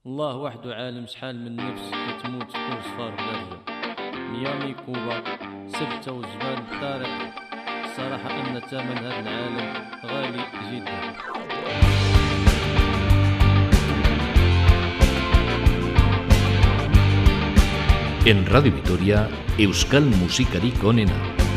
الله وحده عالم شحال من نفس كتموت في كل صفار بلا رجع. ميامي كوبا سبتة والزمان بالطريق. الصراحة أن ثمن هذا العالم غالي جدا. En Radio Vitoria, Euskal Musikarik onena.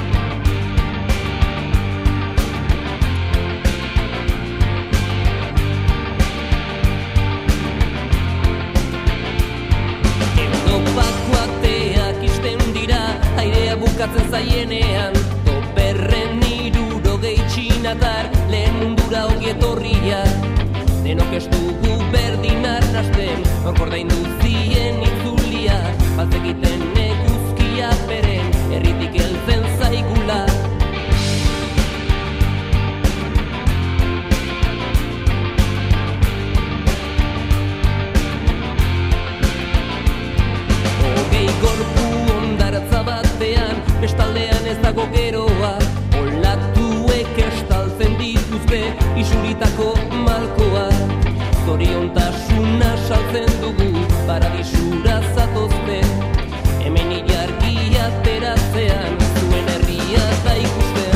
Bukatzen zaienean, toperren irurogei txinatar, lehen mundura ongi etorria. Denok ez dugu berdin arnasten, orkordain duzien itzulia, baltzekiten eguzkia beren, herritik heltzen zaigula. Hogei gorpu ondaratza batean, bestaldean ez dago geroa, olatuek estaltzen dituzte isuritako malkoa. Zoriontasuna saltzen dugu, paradisura zatozte, hemen ilargia teratzean, zuen herria da ikusten.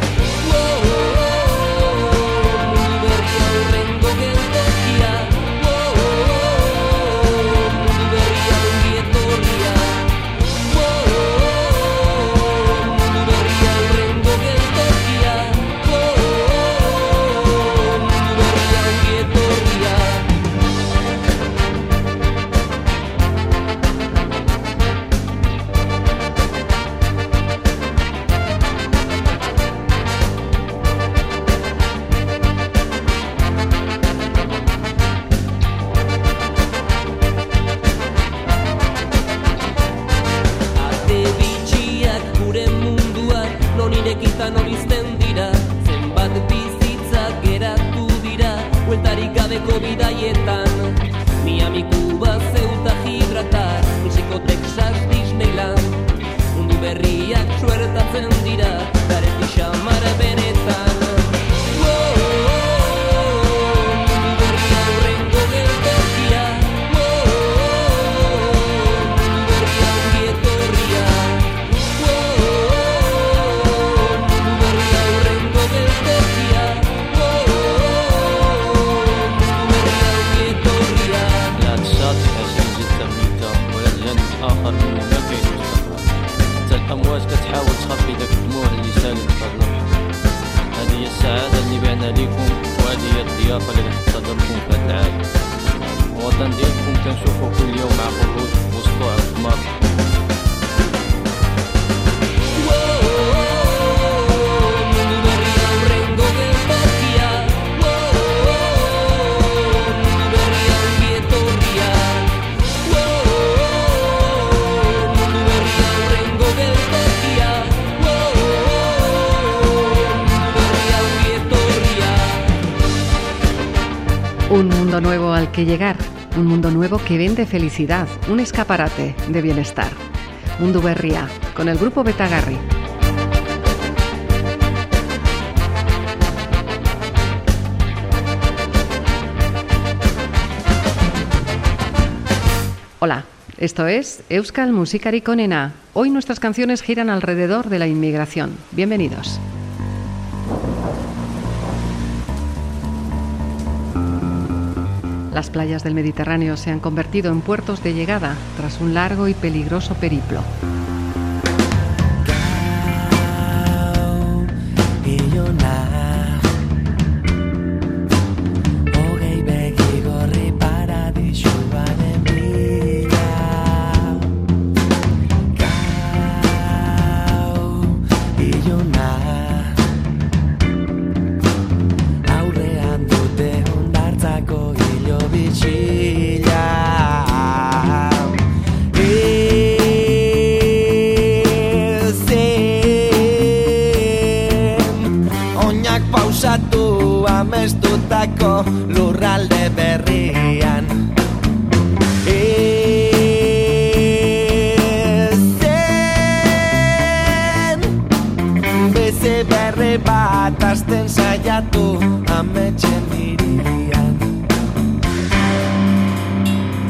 Mundu berria horrengo geltokia, mundu berria ongi etorria. Irekitan horizten dira, zenbat bizitza geratu dira, hueltarik gabeko bidaietan. Miami, Cuba, Ceuta, Gibraltar, Mexiko, Texas, Disneyland. Mundu berriak suertatzen dira, gareti xamar benetan. Mundu berria horrengo geltokia, mundu berria ongi etorria. آخر من ما كاين مستقبل. حتى الأمواج كتحاول تخبي داك الدموع اللي سالت في هاد اللحظة. هذه هي السعادة اللي بعنا ليكم، وهذه هي الضيافة اللي كتنتظركم في هاد العالم. الوطن ديالكم كنشوفو كل يوم مع قبول وسطوع القمر. Un mundo nuevo al que llegar, un mundo nuevo que vende felicidad, un escaparate de bienestar. Mundu Berria, con el grupo Betagarri. Hola, esto es Euskal Musikarik onena. Hoy nuestras canciones giran alrededor de la inmigración. Bienvenidos. Las playas del Mediterráneo se han convertido en puertos de llegada tras un largo y peligroso periplo. Amestutako lurralde berrian Ezen Beze berri bat azten saiatu ametxen dirian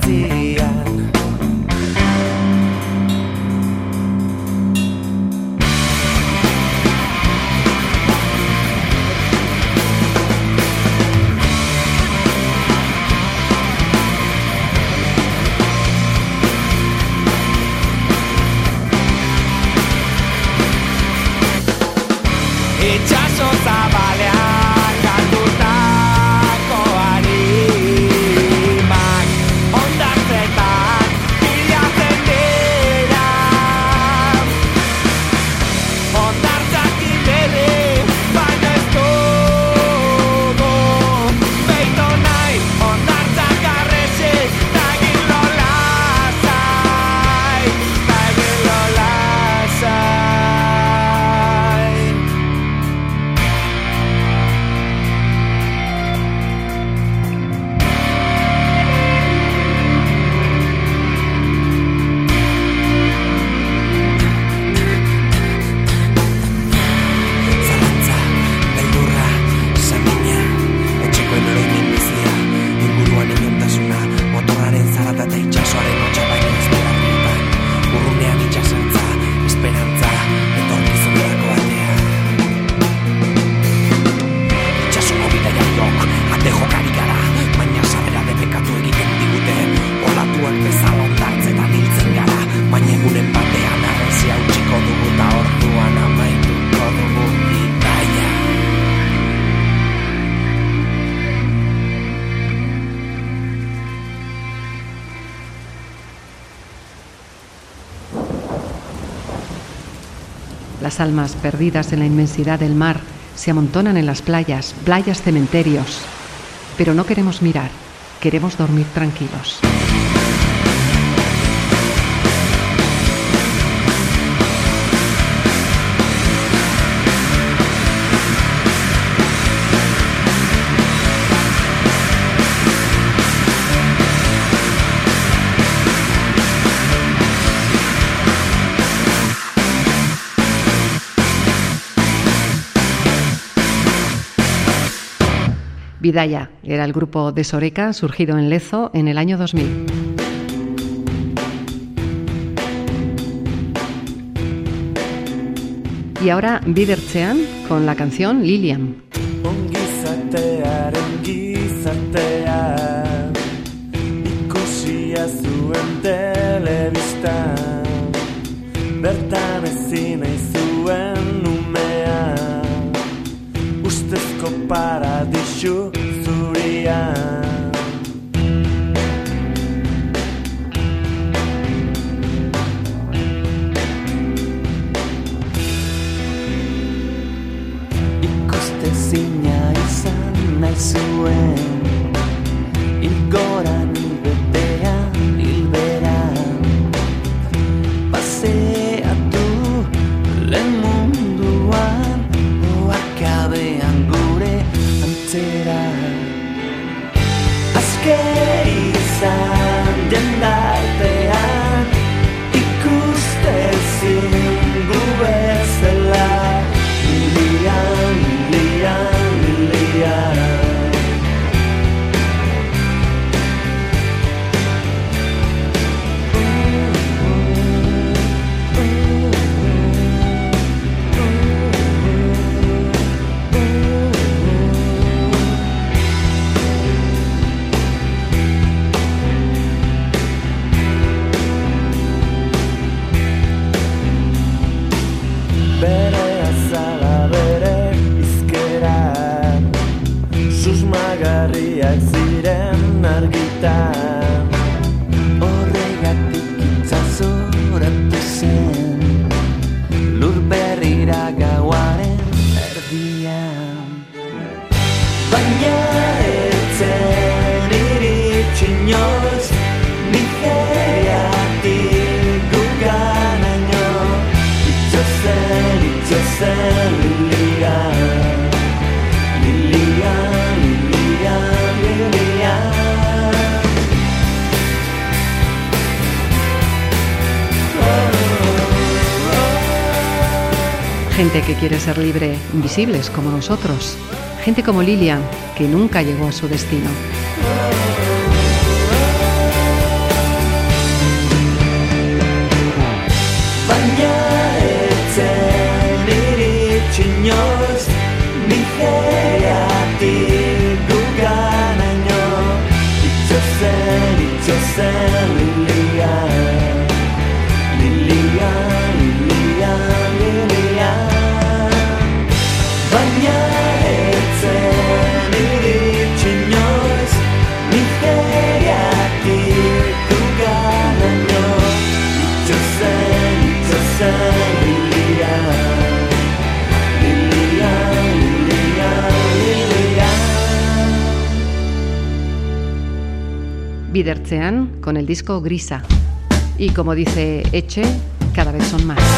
ontzian. Itxaso zabalean galdutako harimak hondartzetan bilatzen dira. Hondartzak iberi baina ez dugu beito nahi. Hondartzak arresi ta gilo lasai, ta gilo lasai. Zalantza, beldurra, samina, etxekoen oroimen bizia, inguruan inontasuna, motorraren zarata eta itxasoaren hotxa baino ezberarrietan, urrunean itxasertza, esperantza, etorkizunerako atea. Itxasoko bidaiariok, ate jokari gara, baina sarrera debekatu egiten digute, olatuak bezala hondartzetan hiltzen gara, baina egunen batean arrezia utziko dugu ta orduan amaituko dugu bidaia. Las almas perdidas en la inmensidad del mar se amontonan en las playas, playas cementerios. Pero no queremos mirar, queremos dormir tranquilos. Bidaya era el grupo de Soreka surgido en Lezo en el año 2000. Y ahora Bidertzean con la canción Lilian. Ongizatearen gizartean ikusia zuen telebistan, bertan ezin nahi zuen umean, ustezko paradisu zurian. Ikustezina izan nahi zuen, ilgoran ilbetean, ilberan, paseatu lehen munduan, oakabean gure antzera. Azke izan jendartean, ikustezin gu bezala, Lilian, Lilian, Lilian. Bere azala bere izkeran, susmagarriak ziren argitan, horregatik itzazoratu zen, lur berrira gauaren erdian. Baina etzen iritsi inoiz, Nigeriatik guganaino, itxozen, itxozen Lilian, Lilian, Lilian, Lilian. Gente que quiere ser libre, invisibles como nosotros. Gente como Lilian, que nunca llegó a su destino. baina etzen iritsi inoiz nigeriatik guganaino. Itxozen, itxozen, lilia, lilia, lilia, lilia, baina etzen iritsi inoiz nigeriatik guganaino. Itxozen, itxozen, lilia, lilia, lilia, lilia. Bidertzean con el disco Grisa. Y como dice Eche, cada vez son más.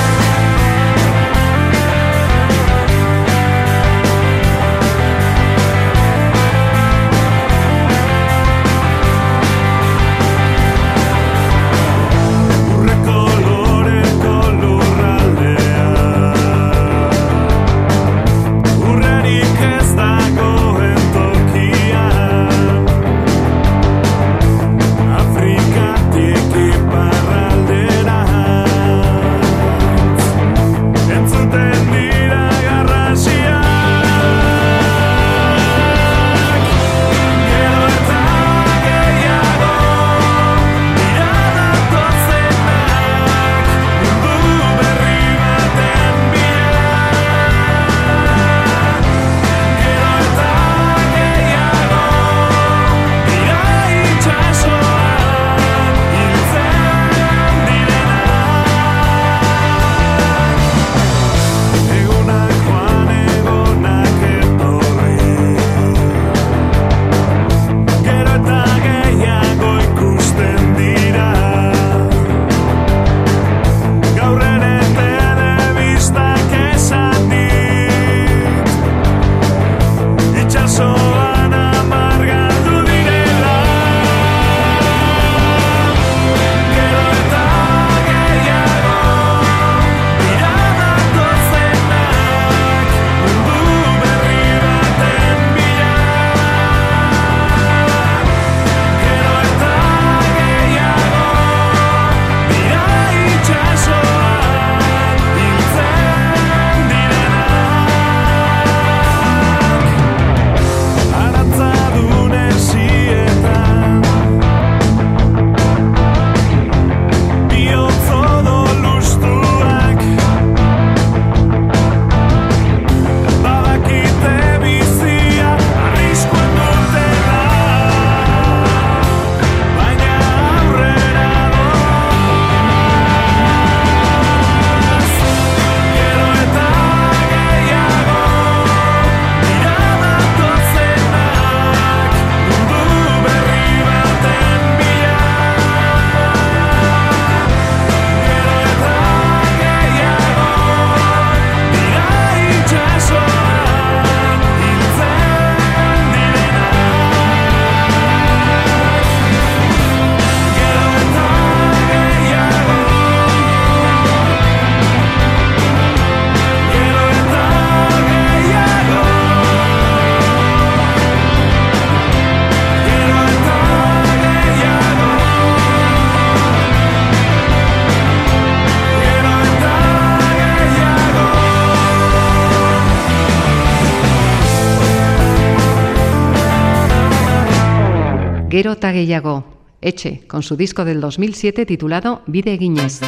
Gero eta gehiago, Etxe, con su disco del 2007 titulado Bide eginez.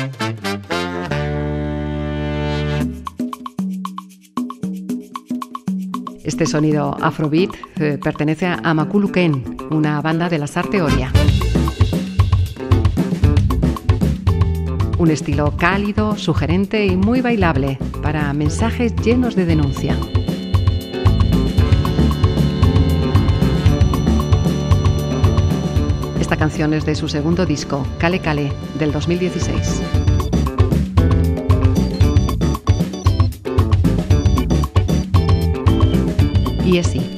Este sonido afrobeat pertenece a Makuluken, una banda de Lasarte Oria. Un estilo cálido, sugerente y muy bailable para mensajes llenos de denuncia. Esta canción es de su segundo disco, Kale Kale, del 2016. Y es así.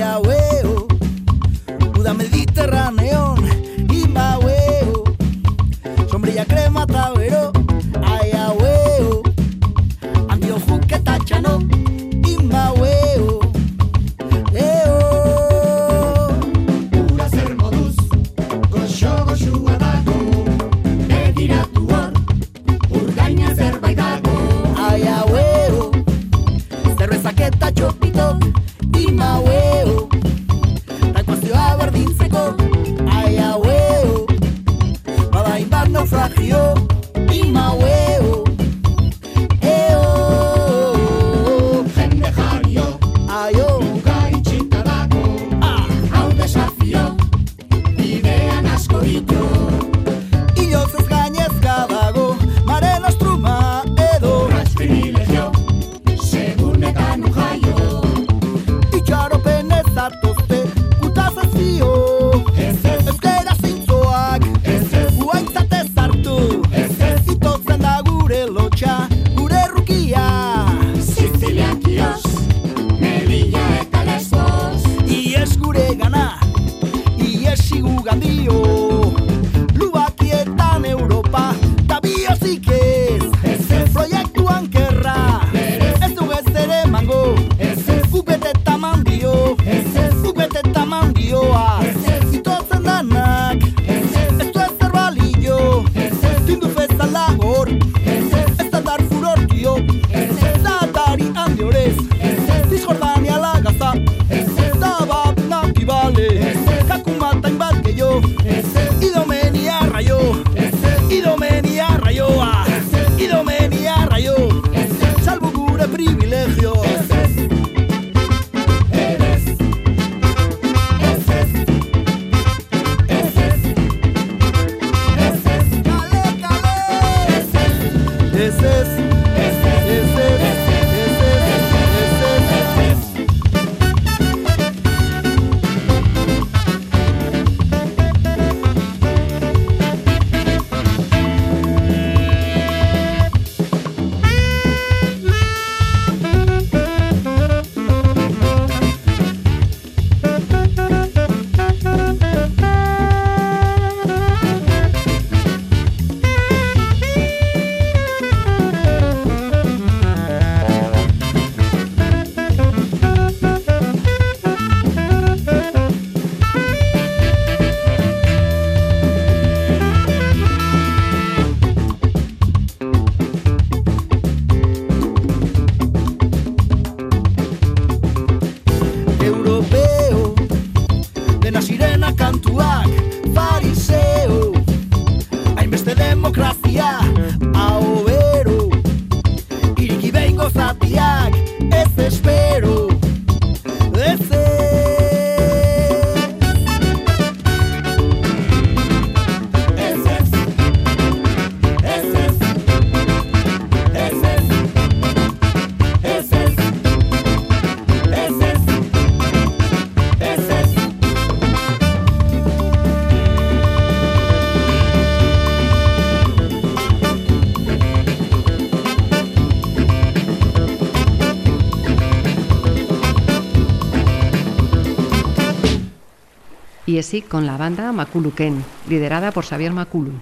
huevo, Buda Mediterráneo, Ima huevo, sombrilla crema tabero, ay a huevo, anteojo que tachano, Ima huevo, Ura zer moduz, goxo-goxua dago, begiratu hor, urgaina zerbait dago. ay a huevo, cerveza que eta txopito, Ima huevo, la ekuazioa berdintzeko, ay a huevo, bada inbat naufragio, Ima huevo, Jende jario, ayo, muga itxita dago, hau desafio, bidean asko ditu. inoz ez gainezka dago, Mare Nostruma edo, Urrats privilegio, segunetan ujaio. itxaropen ez zatozte, gutaz ez zio, ezkera zintzoak, guaintzat ez hartu, itotzen da gure lotxa, gure rukia, Siziliakios, Melilla eta Lesbos. ies gure gana, ies gugandio, Lubakietan Europa, ta biozik ez, proiektuan kerra, ez du ez ere mango, gupeteta mandio, gupeteta mandioa, itotzen danak, ez du ezer balio, tindu fezala hor, ez da dar furortio, zatari handi horez, Cisjordania la Gaza, Zabab Nakibale, Kakumatain bat gehiago, Idomenia raio, Idomenia raioa, Idomenia raio, salbu gure privilegio. Kale, kale, ez ez, europeo, dena sirena kantuak, fariseo, hainbeste demokrazia, hau bero, iriki behingo zatiak, ez espero, ez Y así con la banda Makulu Ken, liderada por Xavier Makulu.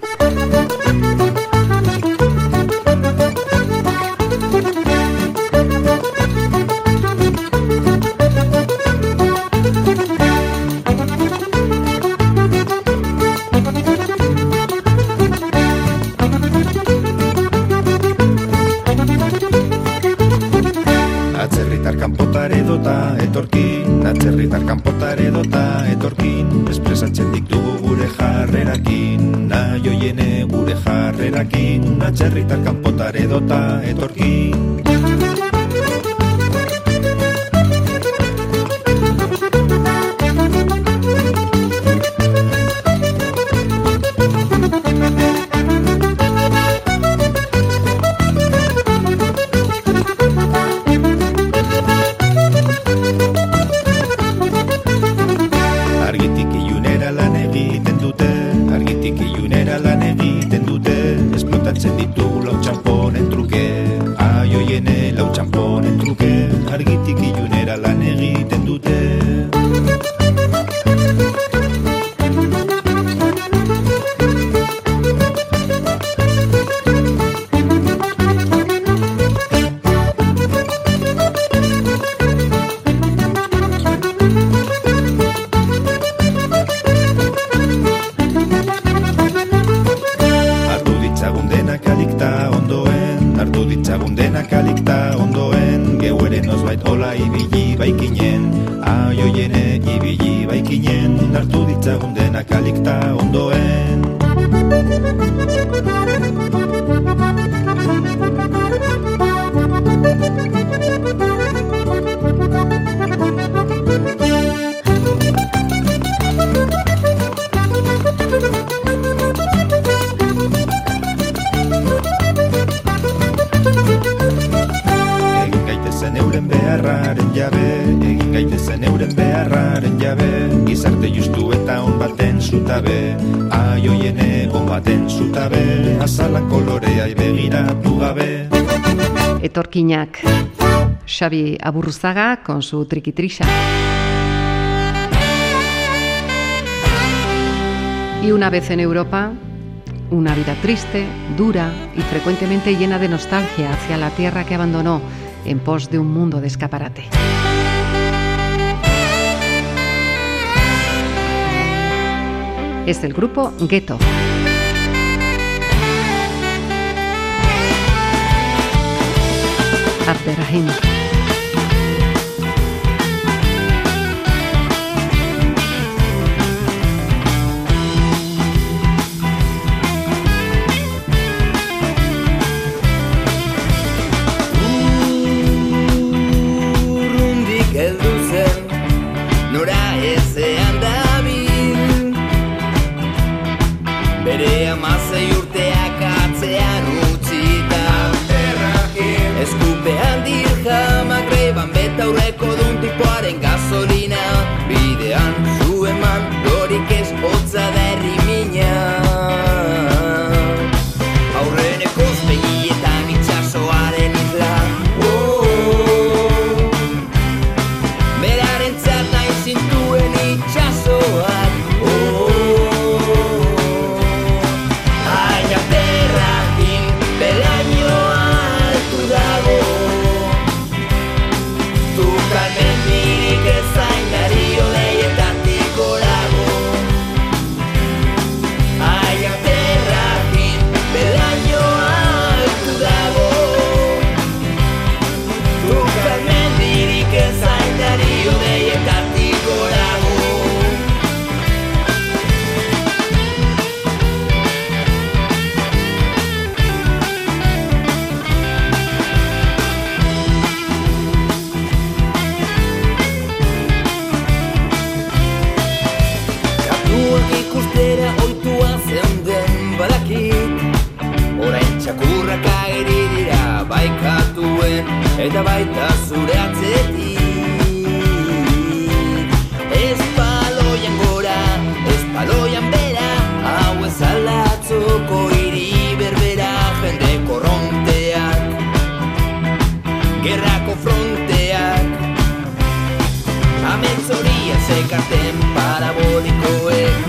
Atzerritar kanpotar edota etorkin, atzerritar kanpotar edota etorkin, espresatzen ditugu gure jarrerakin, nahi oiene gure jarrerakin, atzerritar kanpotar edota etorkin. Argitik ilunera lan egiten dute, argitik ilunera lan egiten dute, esplotatzen ditugu lau txamponen truke, ai oiene lau txamponen truke, argitik ilunera lan egiten dute. nola ibili baikinen, aioiene ibili baikinen, hartu ditzagun denak alikta ondoen. Beharraren jabe, egin gaitezen euren beharraren jabe, gizarte justu eta on baten zutabe, aioiene on baten zutabe, azalan kolorea begiratu gabe. Etorkinak, Xabi Aburruzaga con su triquitrisa. Y una vez en Europa, una vida triste, dura y frecuentemente llena de nostalgia hacia la tierra que abandonó en pos de un mundo de escaparate. Es el grupo Ghetto. Abderrahim. Aurreko dun tipoaren gasolina, bidean zu eman, lorik ez hotza da errimina. Aurreneko begietan itxasoaren isla, berarentzat nahi zintuen itxasoak. Aina terrakin belaino altu dago, mendirik ezain dario leietatik gorago. Aia terrakin belaino altu dago, Tukar mendirik ezain dario leietatik gorago. Ikustera oitua zeunden badakit, orain txakurrak ageri dira baikatuen eta baita zure atzetik. Ez paloian gora, ez paloian bera, hau ez alatzoko hiri berbera, jende korronteak, gerrako fronteak, amets horiak zekarten parabolikoek.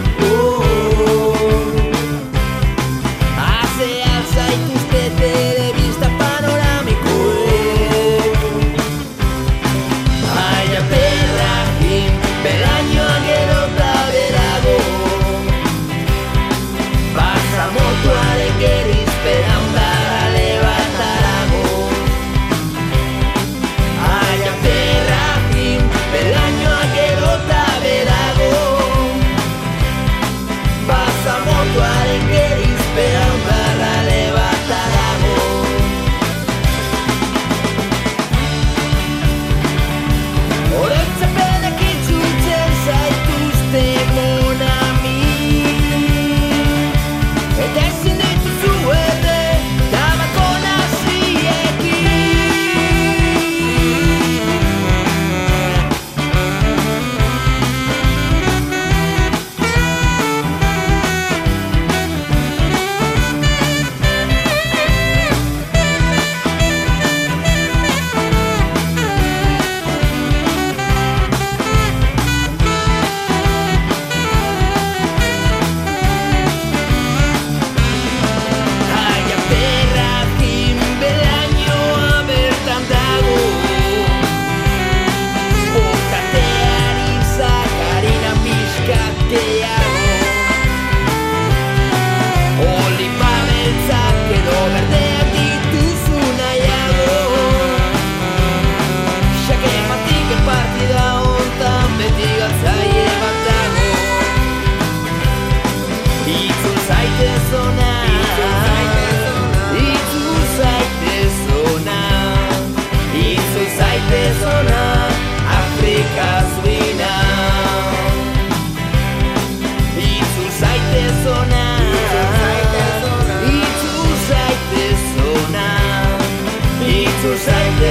Hazean zaituzte telebista panoramikoek. Aia perrakin, belainoan gero eta berago, pasamotuaren gerizpera ondara bat arago. Aia perrakin, belainoan gero eta berago,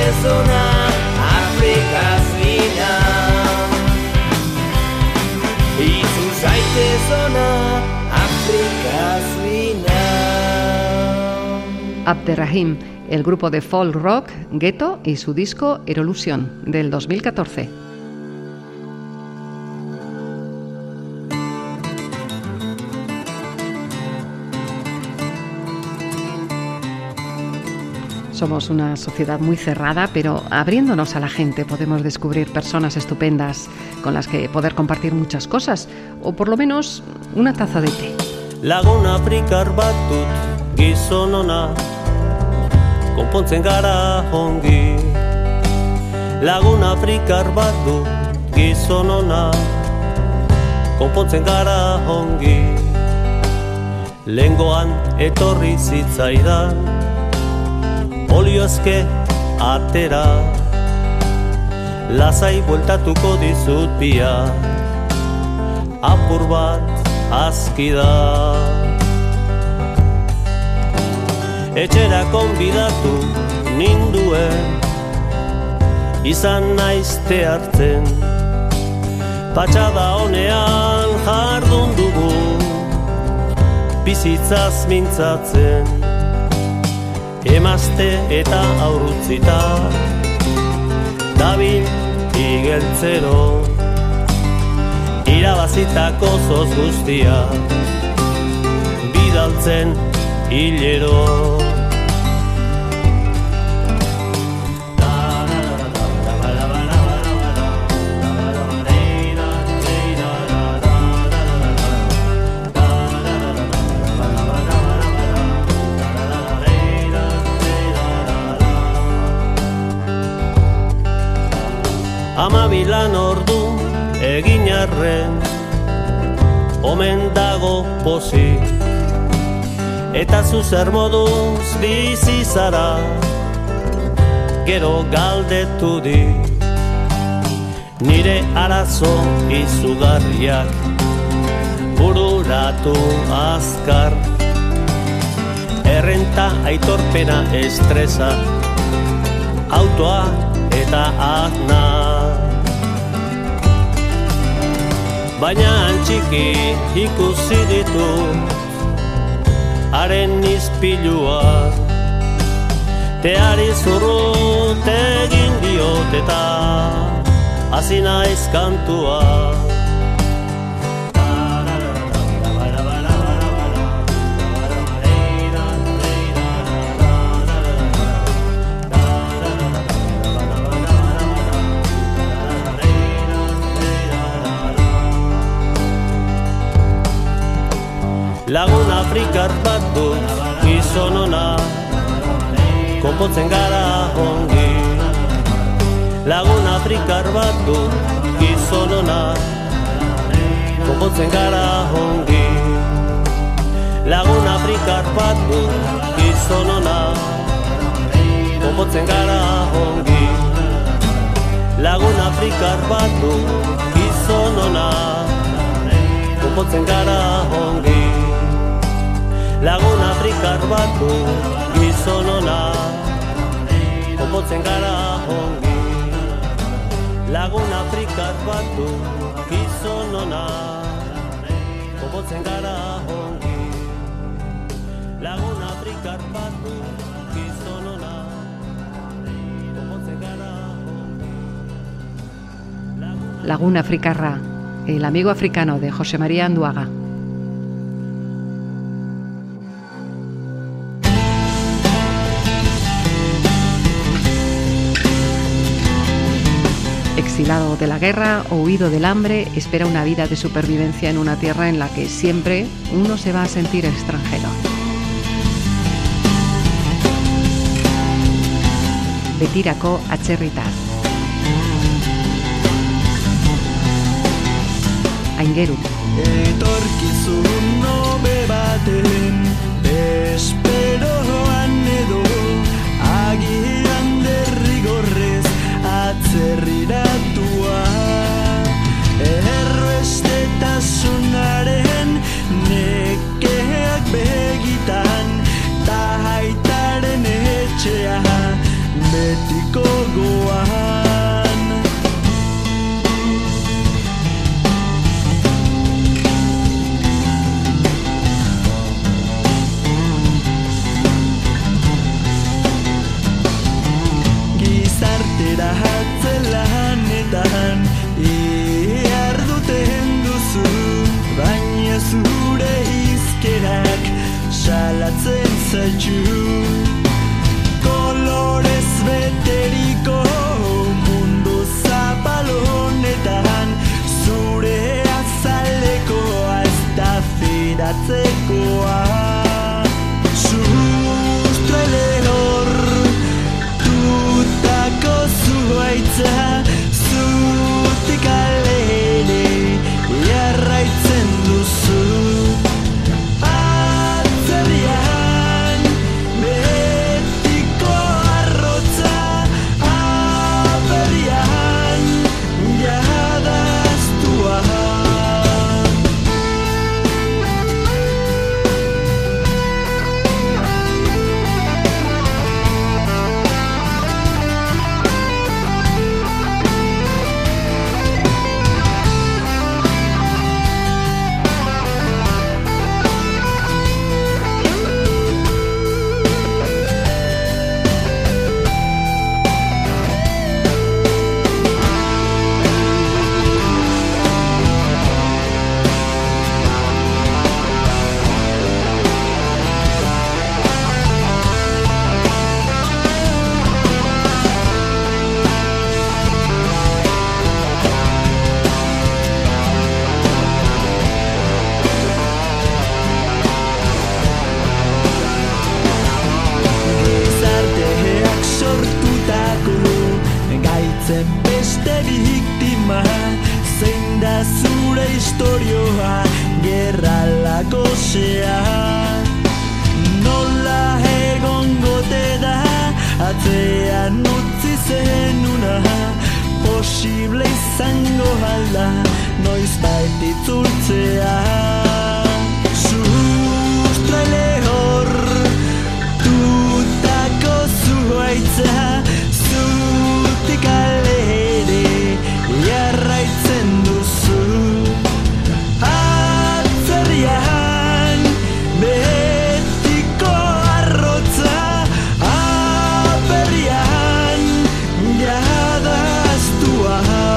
zaitez ona, Afrika zuina. Izu zaitez ona, Afrika zuina. Abderrahim, el grupo de folk rock Ghetto y su disco Erolution del 2014. Somos una sociedad muy cerrada, pero abriéndonos a la gente podemos descubrir personas estupendas con las que poder compartir muchas cosas, o por lo menos una taza de té. Lagun afrikar bat dut gizon ona, konpontzen gara ongi. Lagun afrikar bat dut gizon ona, konpontzen gara ongi. Lehengoan etorri zitzaidan, olioezke atera, lasai bueltatuko dizut bia, apur bat aski da. Etxera konbidatu ninduen, izan naizte hartzen, patxada honean jardun dugu, bizitzaz mintzatzen. Emazte eta aurrutzita, dabil igeltzero, irabazitako zoz guztia, bidaltzen hilero. Amabilan ordu egin arren, omen dago pozik, eta zu zer moduz bizi zara, gero galdetu di. Nire arazo izugarriak bururatu azkar, errenta aitorpena estresa, autoa eta azna. Baina antxiki ikusi ditu haren izpilua, teari zurrut egin diot eta hasi naiz kantua. Lagun afrikar bat dut gizon ona, konpontzen gara ongi. Lagun afrikar bat dut gizon ona, konpontzen gara ongi. Lagun afrikar bat dut gizon ona, konpontzen gara ongi. Lagun afrikar bat dut gizon ona, konpontzen gara ongi. Lagun afrikar batu gizon ona, konpontzen gara ongi. Lagun afrikar batu gizon ona, konpontzen gara ongi. Lagun afrikar batu gizon ona, konpontzen gara ongi. Laguna Afrikarra, el amigo africano de José María Anduaga. Exilado de la guerra o huido del hambre, espera una vida de supervivencia en una tierra en la que siempre uno se va a sentir extranjero. Betirako atzerritar. Aingeru. Etorkizun hobe baten esperoan edo agian derrigorrez atzerriratua, erroestetasunaren nekeak begitan ta haitaren etxea betiko atzelanetan iharduten duzu, baina zure hizkerak salatzen zaitu. Kolorez beteriko mundu zapalonetan zure azalekoa ez da fidatzekoa. Sustra lehor tutako zuhaitza zutik alere jarraitzen duzu. Atzerrian betiko arrotza, aberrian jadaztua. Gizarteak sortutako gaitzen beste biktima, zein da zure istorioa gerralako zea. Nola egongote da atzean utzi zenuna, posible izango alda noizbait itzultzea. Sustra lehor tutako zuhaitza zutik alere jarraitzen duzu. Atzerrian betiko arrotza, aberrian jadaztua.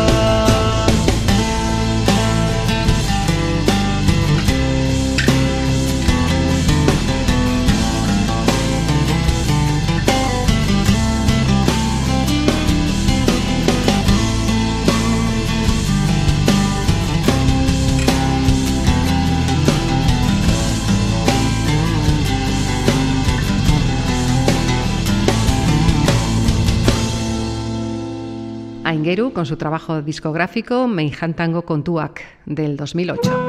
Aingeru con su trabajo discográfico Meijantango Kontuak del 2008.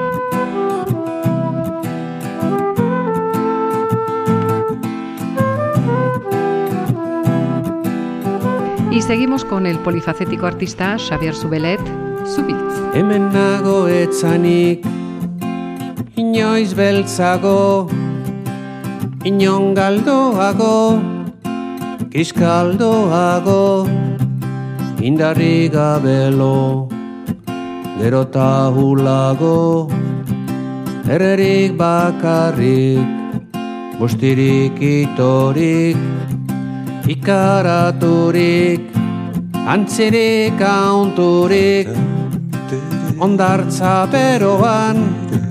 Y seguimos con el polifacético artista Xavier Zubelet, Zubitz. Hemen nago etzanik, inoiz beltzago, inon galdoago, kiskaldoago, indarri gabelo, gero ta hulago, herrerik bakarrik, bustirik itorik, ikaraturik, antzirik aunturik, ondartza beroan,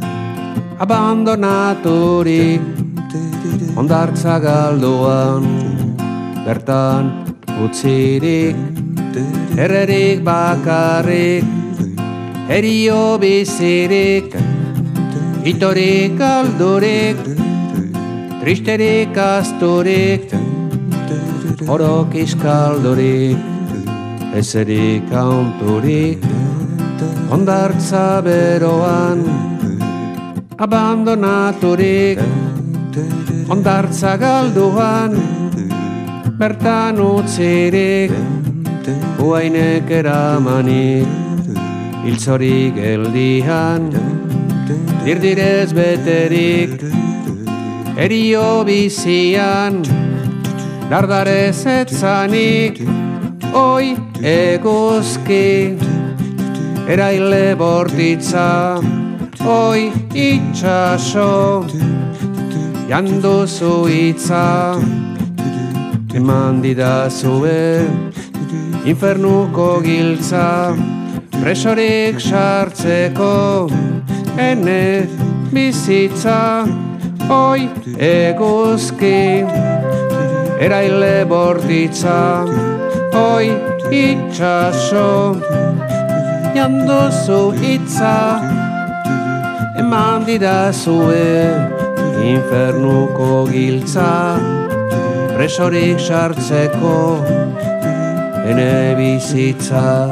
abandonaturik, ondartza galduan, bertan utzirik, herrerik bakarrik, herio bizirik, itorik aldurik, tristerik asturik, orok iskaldurik, ezerik aunturik, ondartza beroan, abandonaturik, ondartza galduan, bertan utzirik, uainek eramanik, hiltzorik geldian, dirdirez beterik, erio bizian, dardarez etzanik, oi eguzki, eraile bortitza, oi itxaso, janduzu itza, eman didazue, infernuko giltza, presorik sartzeko, ene bizitza, oi eguzki, eraile bortitza, oi itxaso, janduzu itza, eman didazue, infernuko giltza, presorik sartzeko, ene bizitza.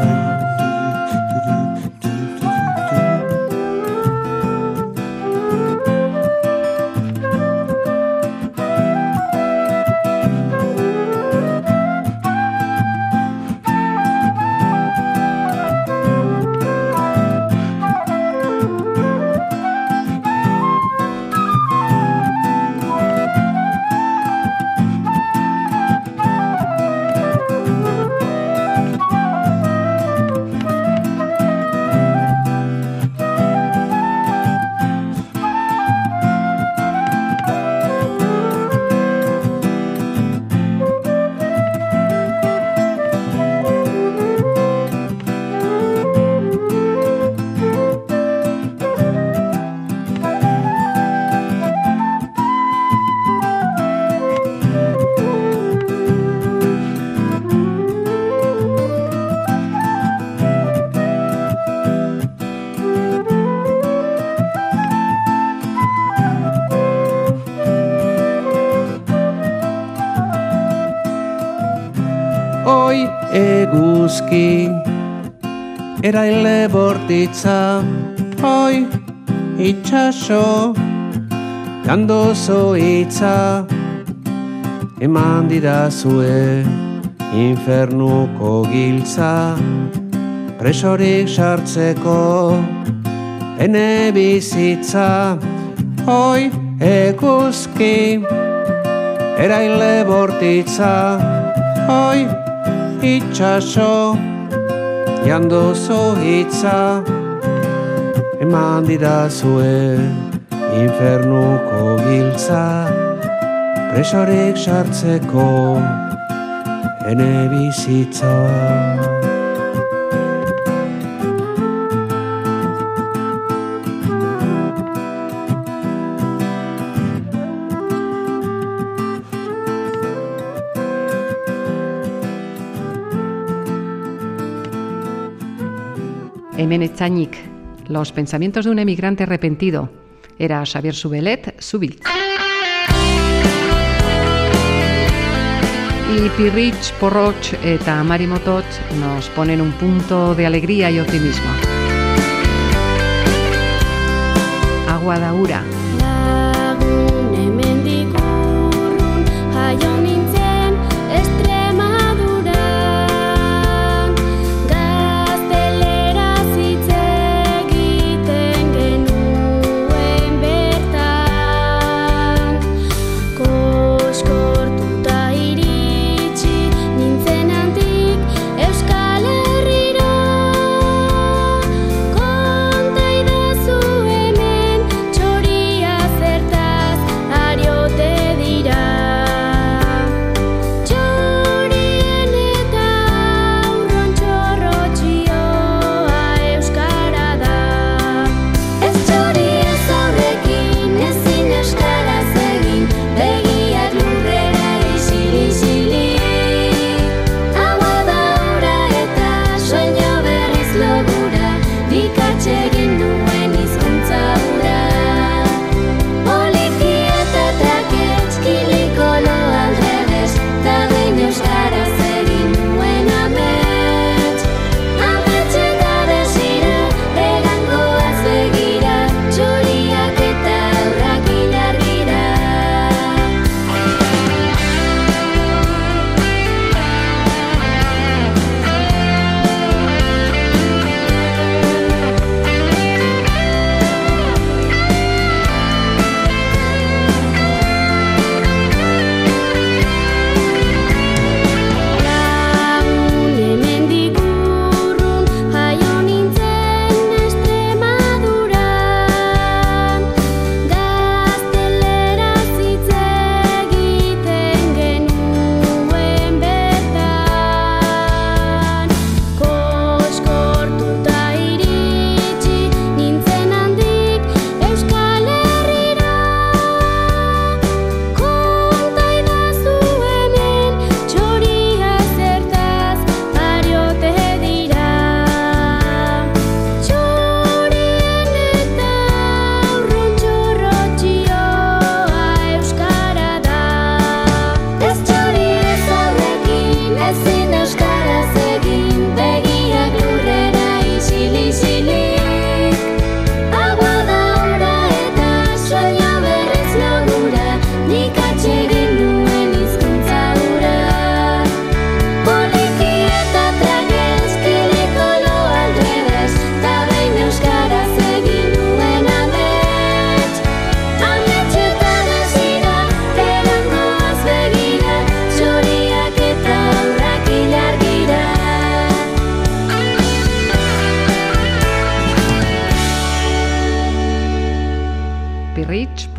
Oi eguzki, eraile bortitza, oi itxaso, janduzu itza, eman didazue, infernuko giltza, presorik sartzeko, ene bizitza, oi eguzki, eraile bortitza, oi itxaso, janduzu hitza, eman didazue, infernuko giltza, presorik sartzeko, ene bizitza. Hemen Etxainik, Los pensamientos de un emigrante arrepentido. Era Xavier Subelet, Subiltz. Y Pirritx, Porrotx eta Mari Motot nos ponen un punto de alegría y optimismo. Agua da ura. Konta idazu hemen txori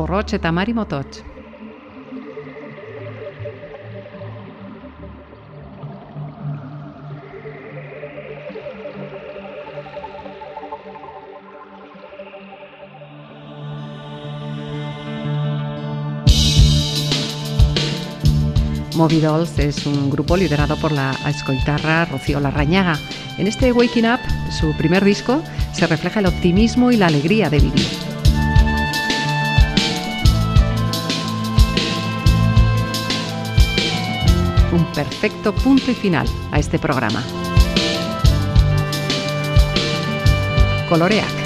porrotx eta mari mototx. Moby Dolls es un grupo liderado por la escoitarra Rocío Larrañaga. En este Waking Up, su primer disco, se refleja el optimismo y la alegría de vivir. Un perfecto punto y final a este programa. Coloreak.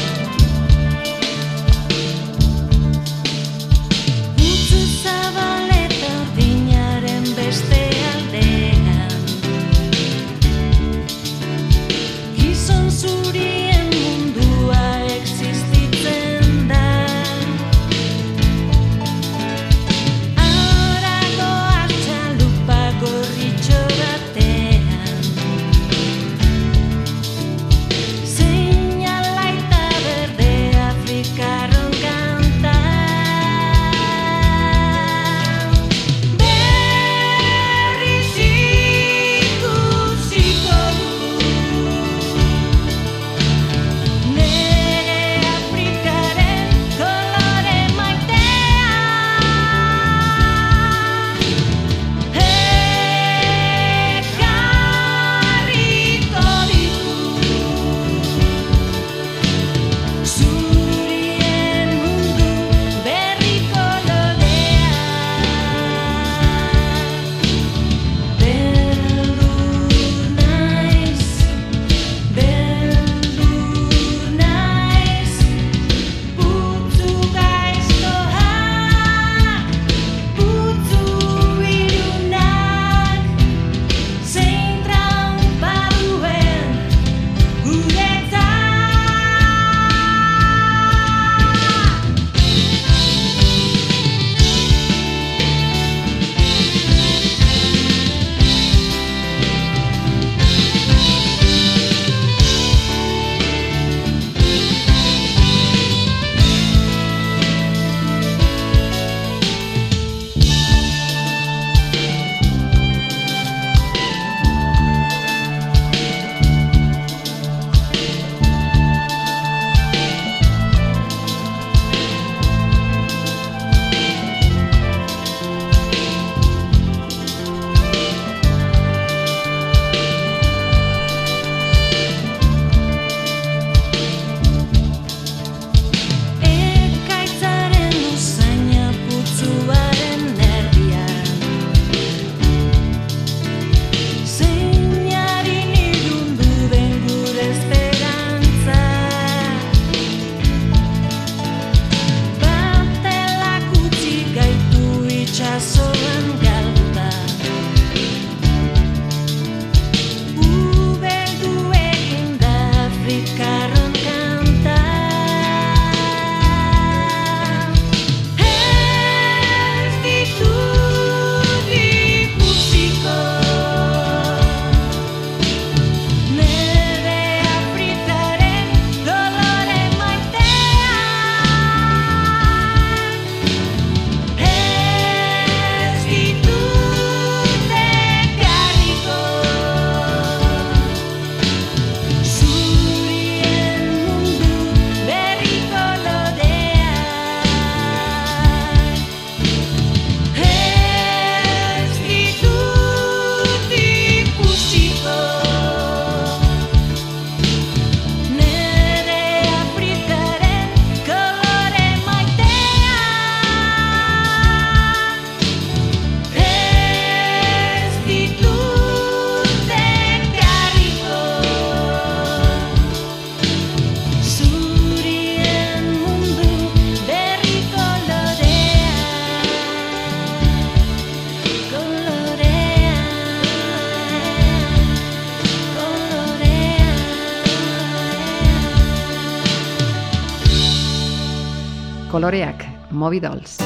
Coloreak, Moby Dolls.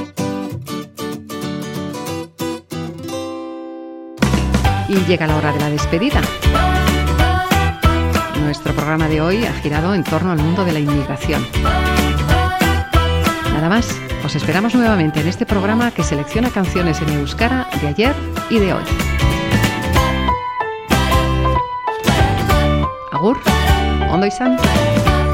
Y llega la hora de la despedida. Nuestro programa de hoy ha girado en torno al mundo de la inmigración. Nada más, os esperamos nuevamente en este programa que selecciona canciones en euskara de ayer y de hoy. Agur, ondo izan.